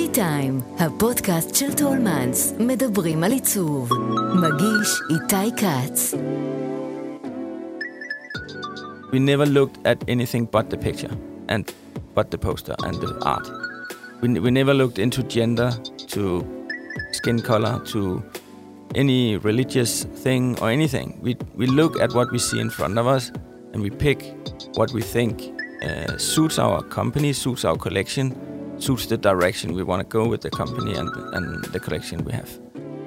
טיים, הפודקאסט של טולמנס, מדברים על עיצוב. מגיש איתי קץ. We never looked at anything but the picture and but the poster and the art. We never looked into gender, to skin color, to any religious thing or anything. We look at what we see in front of us and we pick what we think suits our company, suits our collection, suits the direction we want to go with the company and the collection we have.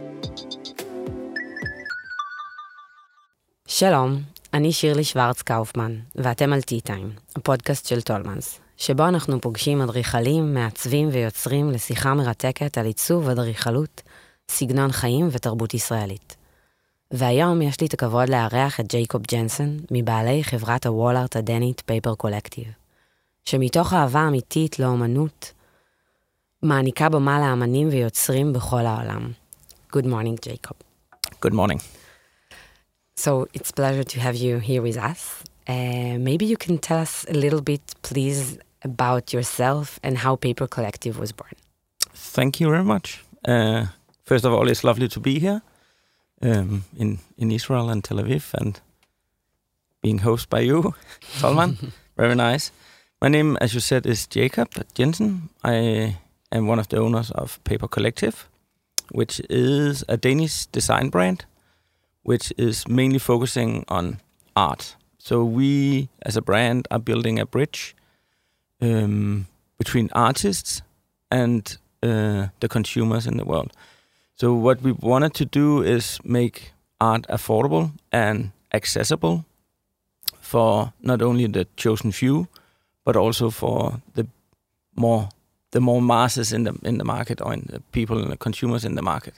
שלום, אני שירלי שוורץ קאופמן, ואתם על טי-טיים, הפודקאסט של טולמנס, שבו אנחנו פוגשים אדריכלים, מעצבים ויוצרים לשיחה מרתקת על עיצוב, אדריכלות, סגנון חיים ותרבות ישראלית. והיום יש לי את הכבוד לארח את ג'ייקוב ג'נסון, מבעלי חברת הוול-ארט הדנית פייפר קולקטיב, שמתוך אהבה אמיתית לאומנות, מעניקה במה לאמנים ויוצרים בכל העולם. Good morning, Jacob. Good morning. So it's a pleasure to have you here with us. Maybe you can tell us a little bit, please, about yourself and how Paper Collective was born. Thank you very much. First of all, it's lovely to be here in Israel and Tel Aviv and being hosted by you, Salman. Very nice. My name, as you said, is Jacob Jensen. I am one of the owners of Paper Collective, which is a Danish design brand, which is mainly focusing on art. So we, as a brand, are building a bridge between artists and the consumers in the world. So what we wanted to do is make art affordable and accessible for not only the chosen few, but also for the more masses in the market, or in the people and the consumers in the market.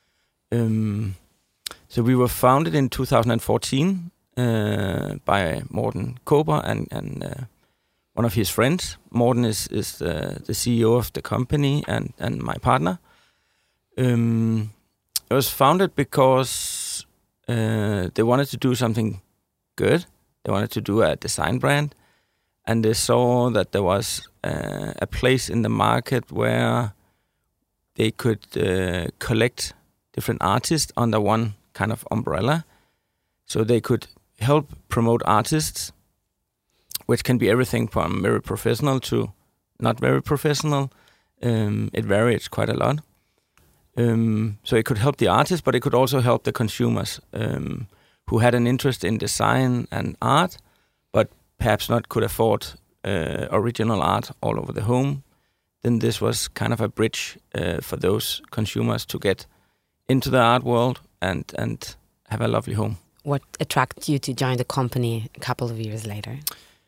So we were founded in 2014 by Morten Kåber and one of his friends. Morten is the CEO of the company and my partner. It was founded because they wanted to do something good. They wanted to do a design brand, and they saw that there was a place in the market where they could collect different artists under one kind of umbrella, so they could help promote artists, which can be everything from very professional to not very professional. It varies quite a lot. So it could help the artists, but it could also help the consumers who had an interest in design and art, but perhaps not could afford original art all over the home. Then this was kind of a bridge for those consumers to get into the art world and have a lovely home. What attracted you to join the company a couple of years later?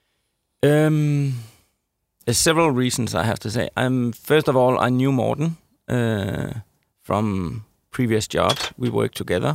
There's several reasons, I have to say. First of all, I knew Morten from previous jobs. We worked together.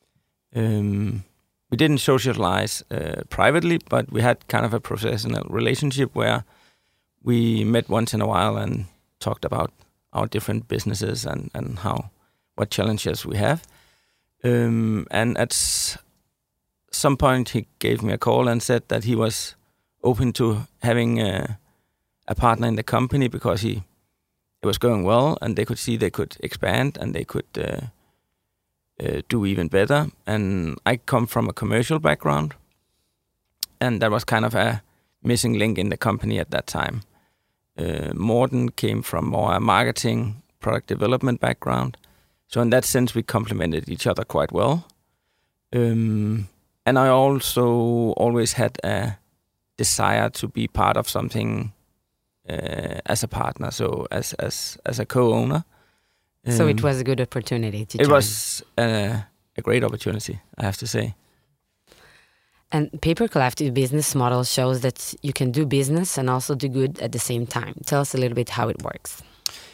We didn't socialize privately, but we had kind of a professional relationship where we met once in a while and talked about our different businesses and what challenges we have. And at some point he gave me a call and said that he was open to having a partner in the company because it was going well and they could see they could expand and they could do even better. And I come from a commercial background, and that was kind of a missing link in the company at that time. Morten came from more a marketing, product development background. So in that sense, we complemented each other quite well. And I also always had a desire to be part of something as a partner, so as a co-owner. So it was a good opportunity to join. It was a great opportunity, I have to say. And Paper Collective business model shows that you can do business and also do good at the same time. Tell us a little bit how it works.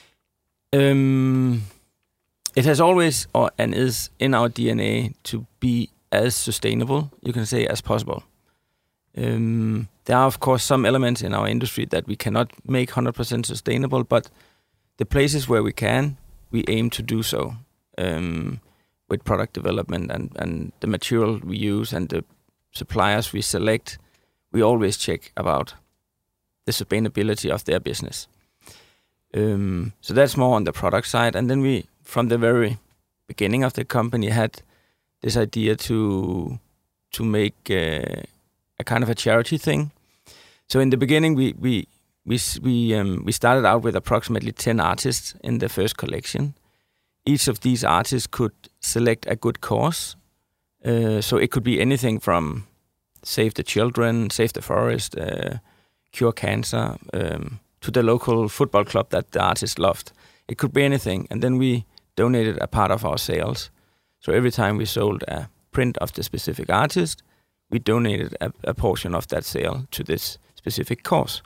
It has always and is in our DNA to be as sustainable, you can say, as possible. There are, of course, some elements in our industry that we cannot make 100% sustainable, but the places where we can, we aim to do so with product development and the material we use and the suppliers we select. We always check about the sustainability of their business. So that's more on the product side. And then we, from the very beginning of the company, had this idea to make a kind of a charity thing. So in the beginning, we started out with approximately 10 artists in the first collection. Each of these artists could select a good cause. So it could be anything from save the children, save the forest, cure cancer, to the local football club that the artist loved. It could be anything. And then we donated a part of our sales. So every time we sold a print of the specific artist, we donated a portion of that sale to this specific cause.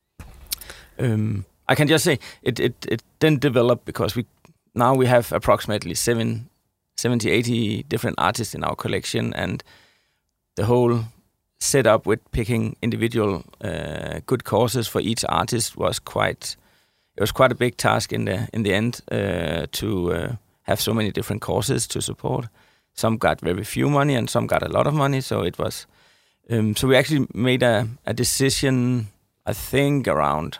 I can just say it didn't develop because now we have approximately 70-80 different artists in our collection, and the whole setup with picking individual good causes for each artist was quite a big task in the end to have so many different causes to support. Some got very few money and some got a lot of money, so it was so we actually made a decision, I think around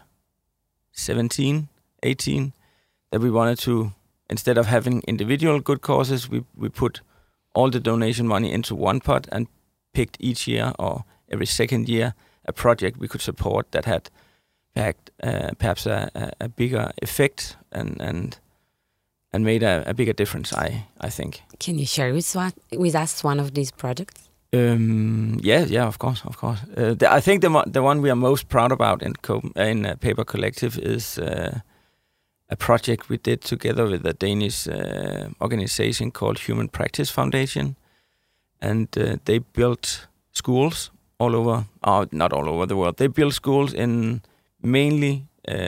17, 18, that we wanted to, instead of having individual good causes, we put all the donation money into one pot and picked each year or every second year a project we could support that had perhaps a bigger effect and made a bigger difference, I think. Can you share with us one of these projects? Yeah, of course. I think the one we are most proud about in Paper Collective is a project we did together with a Danish organization called Human Practice Foundation, and they built schools all over, not all over the world. They built schools in mainly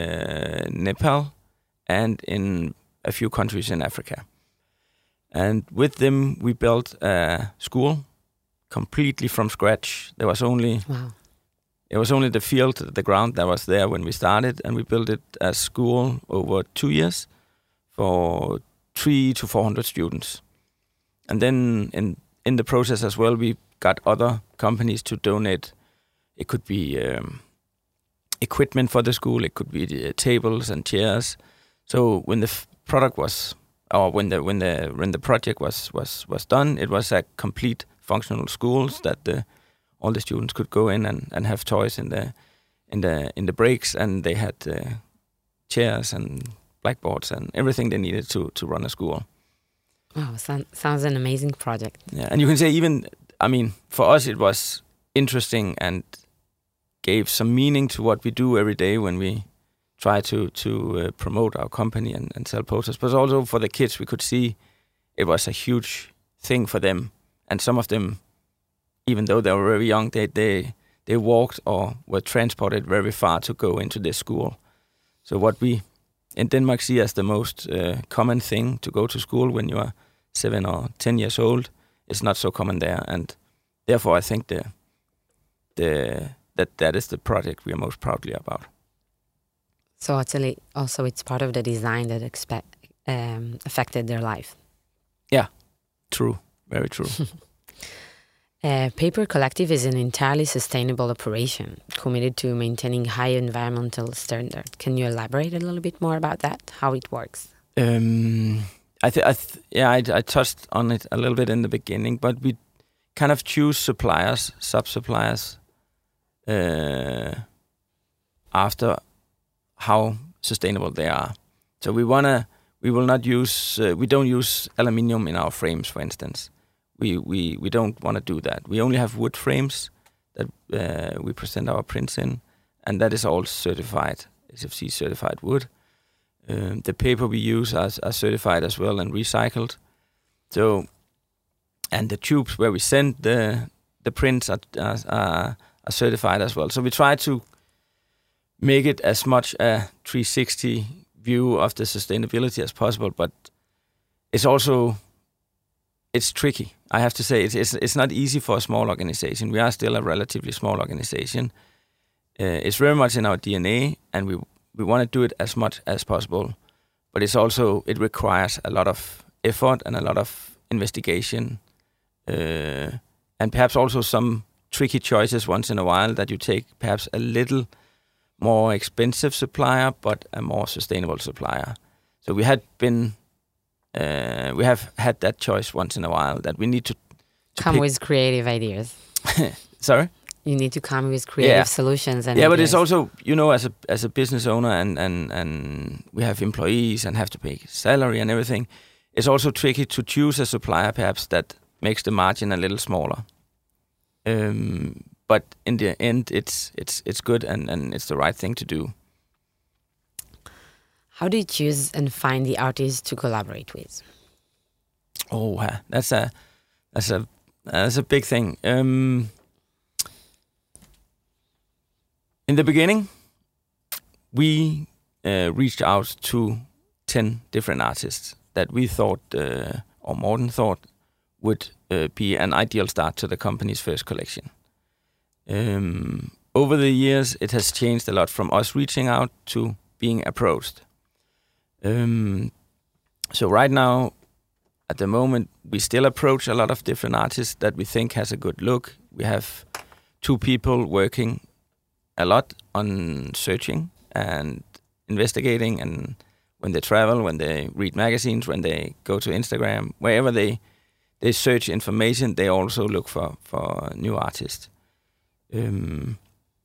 Nepal and in a few countries in Africa. And with them, we built a school completely from scratch. There was only it was only the field, the ground that was there when we started, and we built it as school over 2 years for 300 to 400 students. And then in the process as well, we got other companies to donate. It could be equipment for the school. It could be tables and chairs. So when the product was, or when the project was done, it was a complete functional schools that all the students could go in and have toys in the breaks, and they had chairs and blackboards and everything they needed to run a school. Wow, sounds an amazing project. Yeah, and you can say for us it was interesting and gave some meaning to what we do every day when we try to promote our company and sell posters. But also for the kids, we could see it was a huge thing for them. And some of them, even though they were very young, they walked or were transported very far to go into this school. So what we in Denmark see as the most common thing to go to school when you are 7 or 10 years old is not so common there. And therefore, I think that is the project we are most proudly about. So actually, also it's part of the design that affected their life. Yeah, true. Very true. Paper Collective is an entirely sustainable operation committed to maintaining high environmental standards. Can you elaborate a little bit more about that, how it works? I touched on it a little bit in the beginning, but we kind of choose suppliers, sub-suppliers, after how sustainable they are. So we don't use aluminium in our frames, for instance. We don't want to do that. We only have wood frames that we present our prints in, and that is all certified, SFC certified wood. The paper we use are certified as well and recycled. So, and the tubes where we send the prints are certified as well. So we try to make it as much a 360 view of the sustainability as possible, but it's tricky. I have to say it's not easy for a small organization. We are still a relatively small organization. It's very much in our DNA, and we want to do it as much as possible. But it requires a lot of effort and a lot of investigation, and perhaps also some tricky choices once in a while that you take perhaps a little more expensive supplier, but a more sustainable supplier. So we have had that choice once in a while that we need to come with creative ideas. Sorry? You need to come with creative solutions. And but it's also, as a business owner and we have employees and have to pay salary and everything, it's also tricky to choose a supplier perhaps that makes the margin a little smaller. But in the end, it's good and it's the right thing to do. How do you choose and find the artists to collaborate with? Oh, that's a big thing. In the beginning, we reached out to 10 different artists that we thought, or Morten thought, would be an ideal start to the company's first collection. Over the years, it has changed a lot from us reaching out to being approached. So right now, at the moment, we still approach a lot of different artists that we think has a good look. We have 2 people working a lot on searching and investigating, and when they travel, when they read magazines, when they go to Instagram, wherever they search information, they also look for new artists. And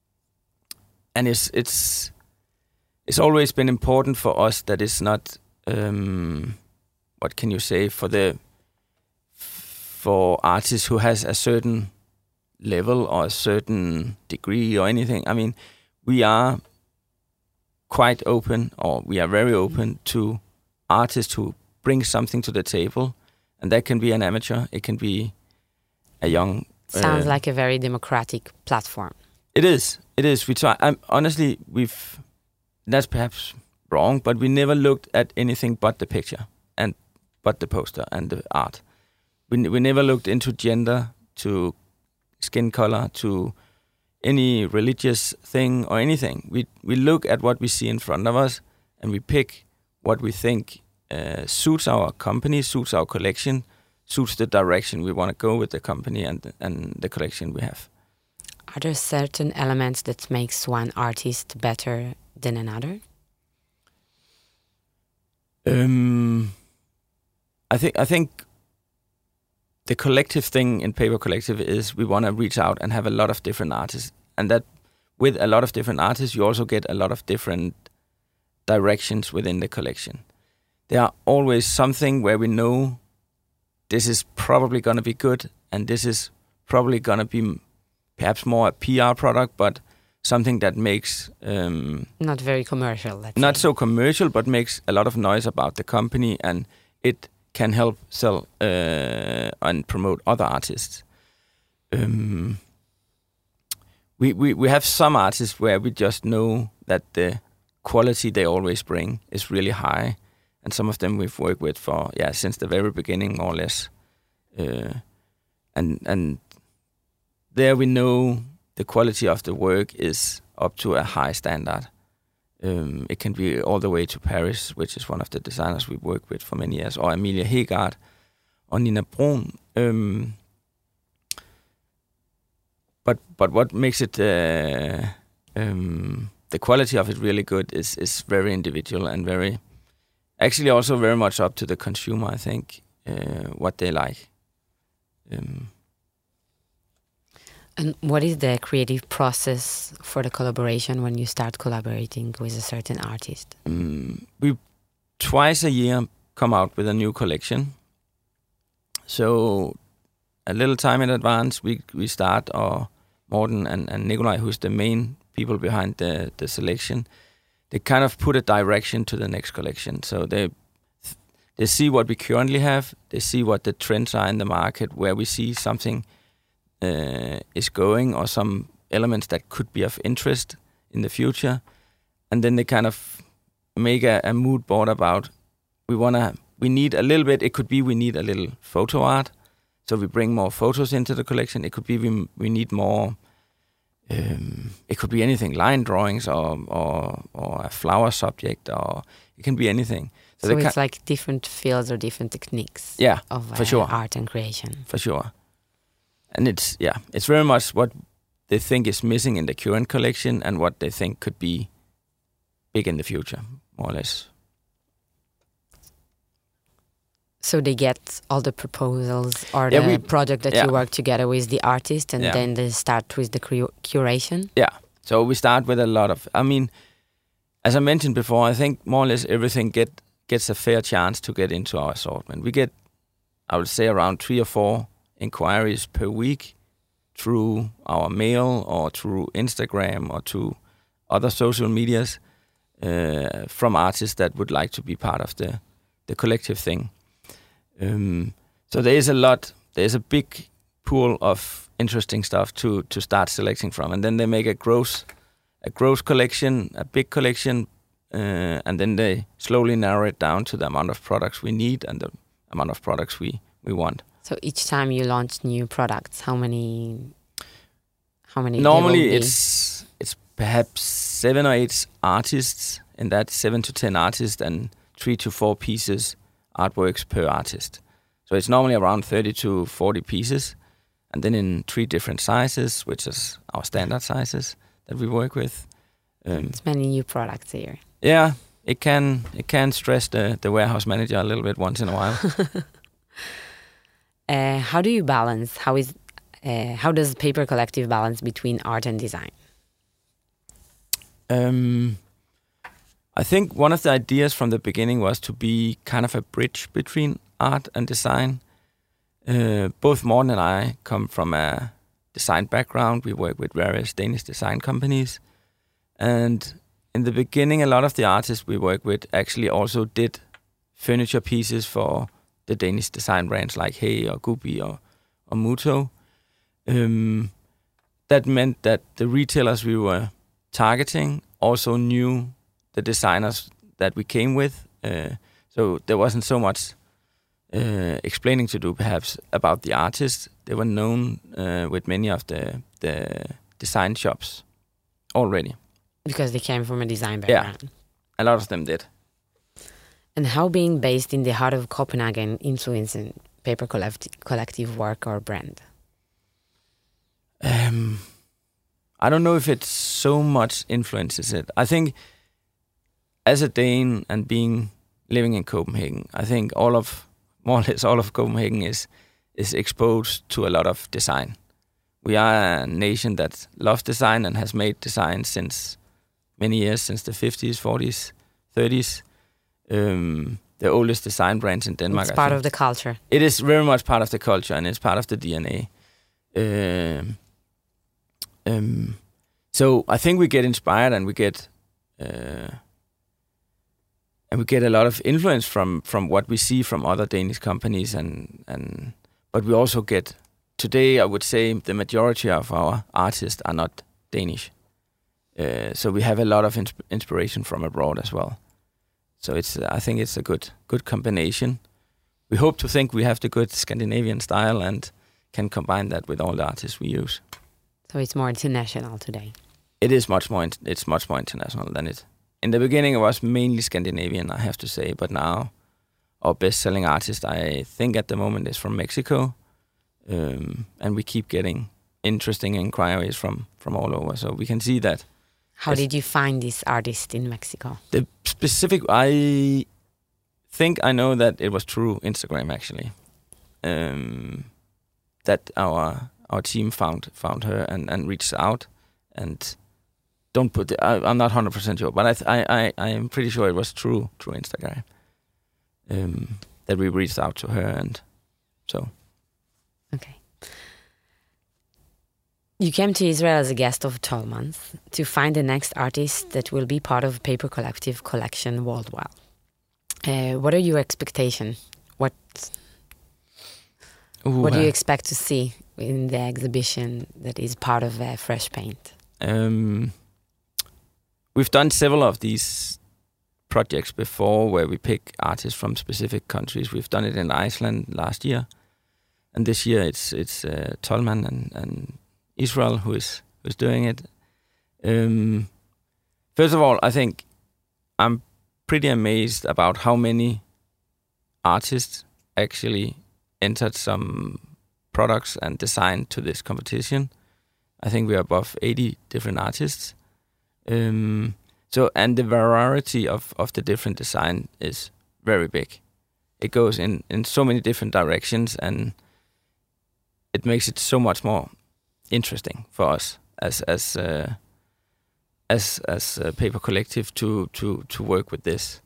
it's always been important for us that it's not what can you say, for artists who has a certain level or a certain degree or anything. I mean, we are quite open, or we are very open to artists who bring something to the table, and that can be an amateur, it can be a young. Sounds like a very democratic platform. It is. We try. Honestly, that's perhaps wrong, but we never looked at anything but the picture and but the poster and the art. We never looked into gender, to skin color, to any religious thing or anything. We look at what we see in front of us, and we pick what we think suits our company, suits our collection, suits the direction we want to go with the company and the collection we have. Are there certain elements that makes one artist better than another? I think the collective thing in Paper Collective is we want to reach out and have a lot of different artists, and that with a lot of different artists, you also get a lot of different directions within the collection. There are always something where we know this is probably going to be good, and this is probably going to be perhaps more a PR product, but something that makes... not very commercial, let's not say. so commercial, but makes a lot of noise about the company, and it can help sell and promote other artists. We have some artists where we just know that the quality they always bring is really high, and some of them we've worked with for since the very beginning, more or less. And there we know the quality of the work is up to a high standard. It can be all the way to Paris, which is one of the designers we've worked with for many years, or Amelia Hegaard, or Nina Brun. But what makes it the quality of it really good is very individual and very, actually also very much up to the consumer, I think, what they like. And what is the creative process for the collaboration when you start collaborating with a certain artist? We twice a year come out with a new collection. So a little time in advance, we start, or Morten and Nikolaj, who's the main people behind the selection, they kind of put a direction to the next collection. So they see what we currently have, they see what the trends are in the market, where we see something is going, or some elements that could be of interest in the future, and then they kind of make a mood board about we need a little bit. It could be we need a little photo art, so we bring more photos into the collection. It could be we need more. It could be anything, line drawings or a flower subject, or it can be anything. So it's like different fields or different techniques. Of for sure. Art and creation. For sure. And it's very much what they think is missing in the current collection and what they think could be big in the future, more or less. So they get all the proposals or the project that you work together with the artist, and then they start with the curation? Yeah. So we start with a lot of... I mean, as I mentioned before, I think more or less everything gets a fair chance to get into our assortment. We get, I would say, around 3 or 4 inquiries per week through our mail or through Instagram or to other social medias from artists that would like to be part of the collective thing. So there's a big pool of interesting stuff to start selecting from, and then they make a gross collection, a big collection, and then they slowly narrow it down to the amount of products we need and the amount of products we want. So each time you launch new products, how many? Normally it's perhaps 7 or 8 artists, and that's 7 to 10 artists and 3 to 4 pieces, artworks per artist. So it's normally around 30 to 40 pieces, and then in 3 different sizes, which is our standard sizes that we work with. It's many new products here. Yeah, it can stress the warehouse manager a little bit once in a while. How do you balance? How does Paper Collective balance between art and design? I think one of the ideas from the beginning was to be kind of a bridge between art and design. Both Morten and I come from a design background. We work with various Danish design companies. And in the beginning, a lot of the artists we work with actually also did furniture pieces for the Danish design brands like Hey or Gubi or Muto. That meant that the retailers we were targeting also knew the designers that we came with. So there wasn't so much explaining to do, perhaps, about the artists. They were known with many of the design shops already. Because they came from a design background. Yeah, a lot of them did. And how being based in the heart of Copenhagen influencing Paper Collective work or brand? I don't know if it so much influences it. I think as a Dane and living in Copenhagen, I think more or less all of Copenhagen is exposed to a lot of design. We are a nation that loves design and has made design since many years, since the 50s, 40s, 30s. The oldest design brands in Denmark. It's part of the culture. It is very much part of the culture, and it's part of the DNA. So I think we get inspired, and we get a lot of influence from what we see from other Danish companies, but we also get, today I would say the majority of our artists are not Danish. So we have a lot of inspiration from abroad as well. So I think it's a good combination. We hope to think we have the good Scandinavian style and can combine that with all the artists we use. So it's more international today. It is much more international than it. In the beginning, it was mainly Scandinavian, I have to say, but now our best-selling artist, I think at the moment, is from Mexico, and we keep getting interesting inquiries from all over. So we can see that. How did you find this artist in Mexico? The specific, I think I know that it was through Instagram actually, that our team found her and reached out, and don't put I'm not 100% sure, but I am pretty sure it was through Instagram that we reached out to her, and so. Okay. You came to Israel as a guest of Tollmans to find the next artist that will be part of Paper Collective collection worldwide. What are your expectations? What do you expect to see in the exhibition that is part of Fresh Paint? We've done several of these projects before where we pick artists from specific countries. We've done it in Iceland last year, and this year it's Tollman and Israel who is doing it. First of all, I think I'm pretty amazed about how many artists actually entered some products and design to this competition. I think we're above 80 different artists. So, and the variety of the different design is very big. It goes in so many different directions, and it makes it so much more interesting for us as a paper collective to work with this.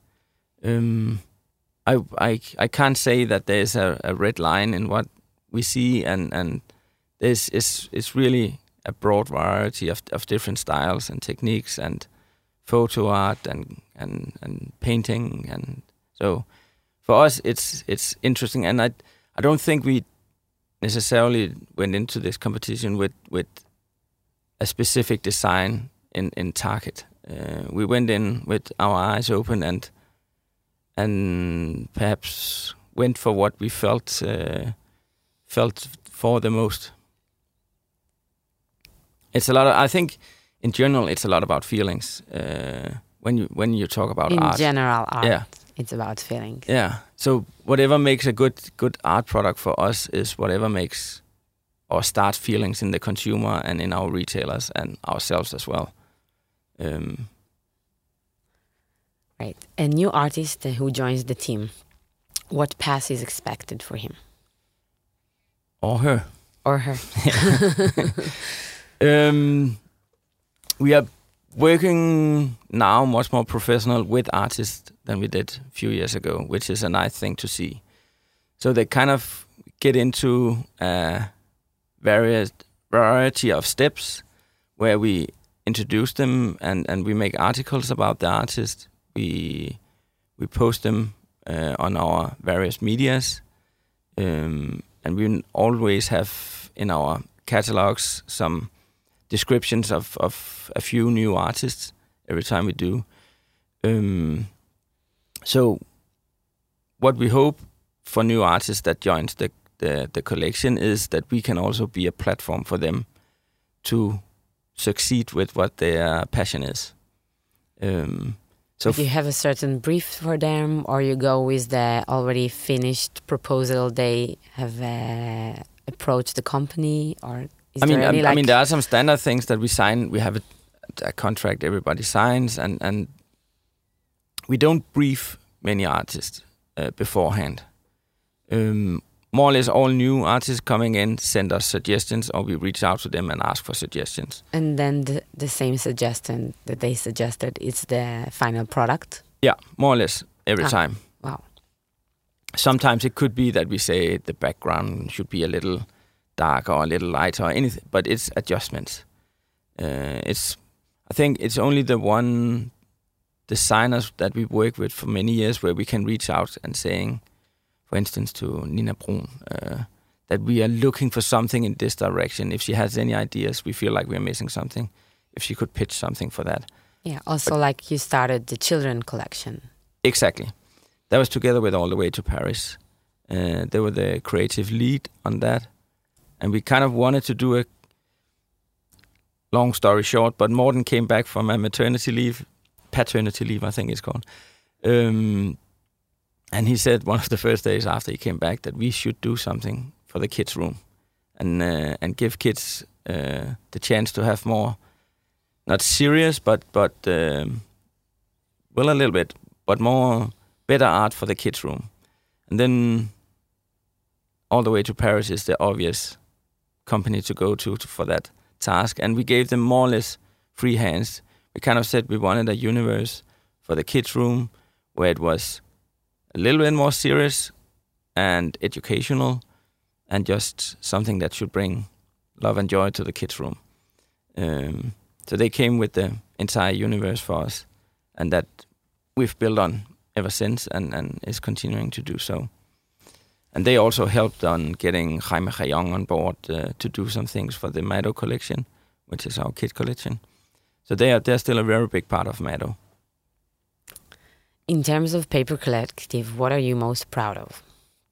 I can't say that there's a red line in what we see, and this is really a broad variety of different styles and techniques and photo art and painting, and so for us it's interesting. And I don't think we necessarily went into this competition with a specific design in target. We went in with our eyes open and perhaps went for what we felt for the most. It's a lot of, I think in general it's a lot about feelings when you talk about art. In general art, yeah. It's about feelings. Yeah. So whatever makes a good art product for us is whatever makes or starts feelings in the consumer and in our retailers and ourselves as well. Right. A new artist who joins the team, what path is expected for him? Or her. Or her. We are working now much more professional with artists than we did a few years ago, which is a nice thing to see. So they kind of get into a variety of steps where we introduce them and we make articles about the artist. We post them on our various medias, and we always have in our catalogs some descriptions of a few new artists every time we do. So what we hope for new artists that joins the collection is that we can also be a platform for them to succeed with what their passion is. So do you have a certain brief for them, or you go with the already finished proposal they have approached the company, or is there any I mean, there are some standard things that we sign. We have a contract everybody signs, and we don't brief many artists beforehand. More or less all new artists coming in send us suggestions, or we reach out to them and ask for suggestions. And then the same suggestion that they suggested is the final product? Yeah, more or less every time. Wow. Sometimes it could be that we say the background should be a little darker or a little lighter or anything, but it's adjustments. I think it's only the one designers that we work with for many years where we can reach out and saying, for instance, to Nina Brun, that we are looking for something in this direction. If she has any ideas, we feel like we're missing something. If she could pitch something for that. Yeah, also like you started the children collection. Exactly. That was together with All the Way to Paris. They were the creative lead on that. And we kind of wanted to do a long story short, but Morten came back from a paternity leave, I think it's called. And he said one of the first days after he came back that we should do something for the kids' room and give kids the chance to have more, not serious, but a little bit, but more better art for the kids' room. And then All the Way to Paris is the obvious company to go to for that task. And we gave them more or less free hands. We kind of said we wanted a universe for the kids' room where it was a little bit more serious and educational and just something that should bring love and joy to the kids' room. So they came with the entire universe for us, and that we've built on ever since and is continuing to do so. And they also helped on getting Jaime Jayong on board to do some things for the Mado collection, which is our kid collection. So they're still a very big part of Mado. In terms of Paper Collective, what are you most proud of?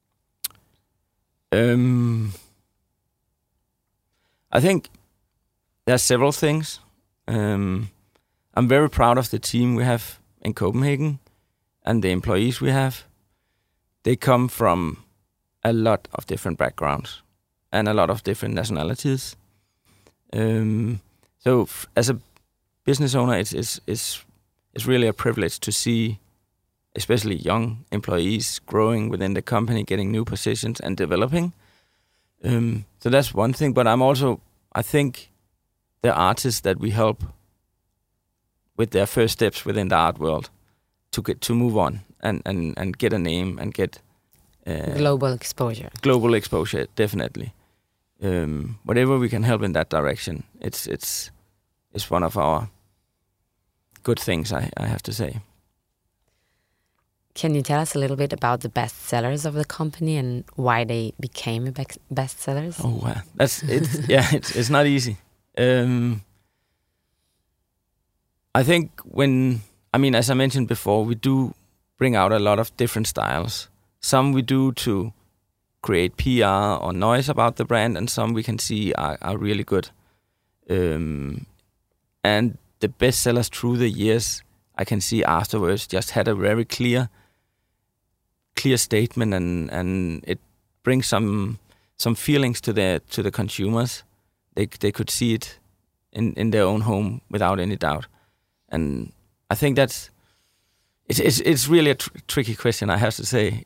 I think there's several things. I'm very proud of the team we have in Copenhagen and the employees we have. They come from a lot of different backgrounds and a lot of different nationalities. So as a business owner, it's really a privilege to see, especially young employees growing within the company, getting new positions and developing. So that's one thing. But I think the artists that we help with their first steps within the art world to move on and get a name and get global exposure. Global exposure, definitely. Whatever we can help in that direction, it's one of our good things, I have to say. Can you tell us a little bit about the bestsellers of the company and why they became bestsellers? Oh, wow. It's not easy. I think as I mentioned before, we do bring out a lot of different styles. Some we do to create PR or noise about the brand, and some we can see are really good. And the bestsellers through the years, I can see afterwards, just had a very clear statement, and it brings some feelings to the consumers. They could see it in their own home without any doubt. And I think it's really a tricky question, I have to say.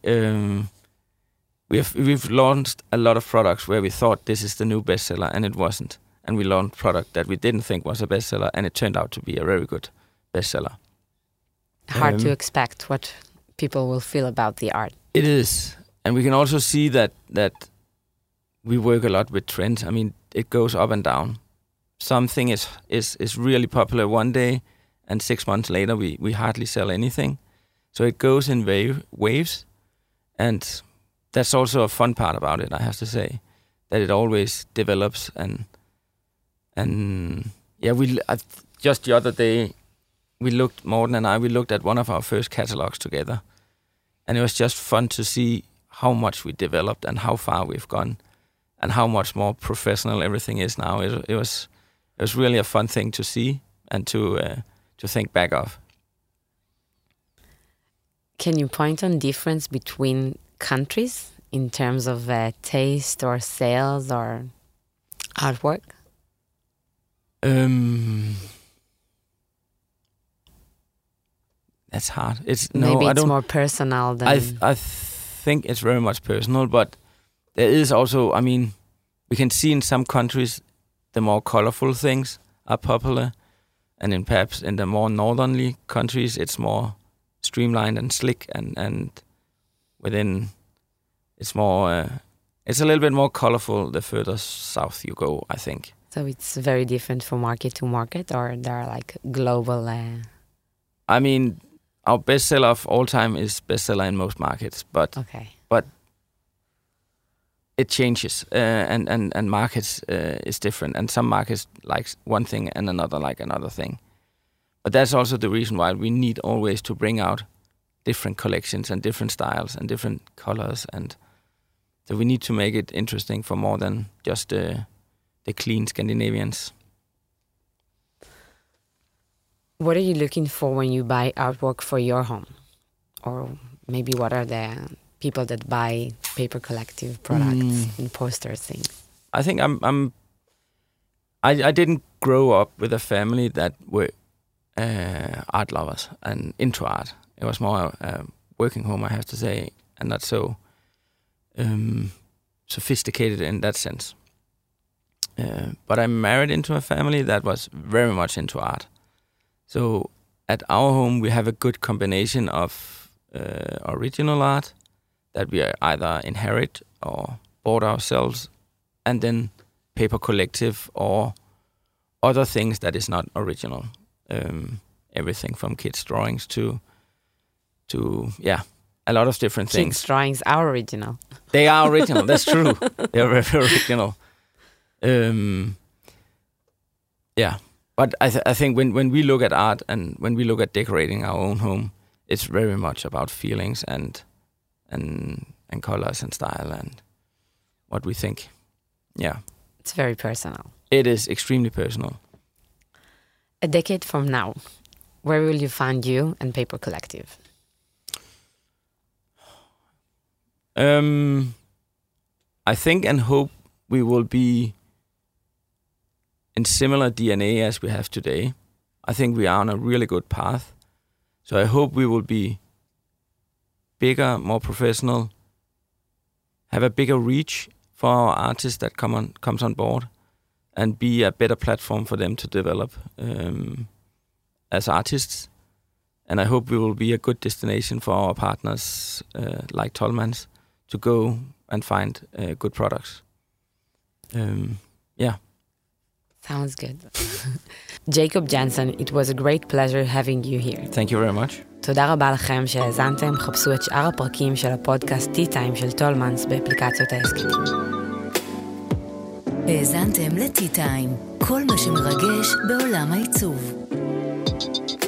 We've launched a lot of products where we thought this is the new bestseller, and it wasn't. And we launched product that we didn't think was a bestseller, and it turned out to be a very good bestseller. Hard to expect what people will feel about the art. It is. And we can also see that we work a lot with trends. I mean, it goes up and down. Something is really popular one day, and 6 months later we hardly sell anything. So it goes in waves, and that's also a fun part about it, I have to say, that it always develops. And just the other day, Morten and I looked at one of our first catalogs together, and it was just fun to see how much we developed and how far we've gone, and how much more professional everything is now. It was really a fun thing to see and to think back of. Can you point on difference between countries in terms of taste or sales or artwork? That's hard. It's more personal than... I think it's very much personal, but there is also, we can see in some countries the more colorful things are popular, and perhaps in the more northerly countries it's more streamlined and slick, and within it's more it's a little bit more colorful the further south you go, I think. So it's very different from market to market, or there are like global... Our bestseller of all time is bestseller in most markets, but it changes, and markets is different, and some markets like one thing and another like another thing. But that's also the reason why we need always to bring out different collections and different styles and different colors, and so we need to make it interesting for more than just the clean Scandinavians. What are you looking for when you buy artwork for your home? Or maybe what are the people that buy Paper Collective products and poster things? I think I didn't grow up with a family that were art lovers and into art. It was more a working home, I have to say, and not so sophisticated in that sense. But I married into a family that was very much into art. So at our home, we have a good combination of original art that we either inherit or bought ourselves, and then Paper Collective or other things that is not original. Everything from kids' drawings to a lot of different things. Kids' drawings are original. They are original, that's true. They are very original. But I think when we look at art and when we look at decorating our own home, it's very much about feelings and colors and style and what we think. Yeah. It's very personal. It is extremely personal. A decade from now, where will you find you and Paper Collective? I think and hope we will be in similar DNA as we have today. I think we are on a really good path. So I hope we will be bigger, more professional, have a bigger reach for our artists that comes on board, and be a better platform for them to develop as artists. And I hope we will be a good destination for our partners like Tollmans to go and find good products. Yeah. Sounds good. Jacob Jansen, it was a great pleasure having you here. Thank you very much. תודה רבה לכם שהאזנתם, חפשו את שאר הפרקים של הפודקאסט Tea Time של טולמנס באפליקציות ההסכתים. האזנתם ל-Tea Time, כל מה שמרגש בעולם העיצוב.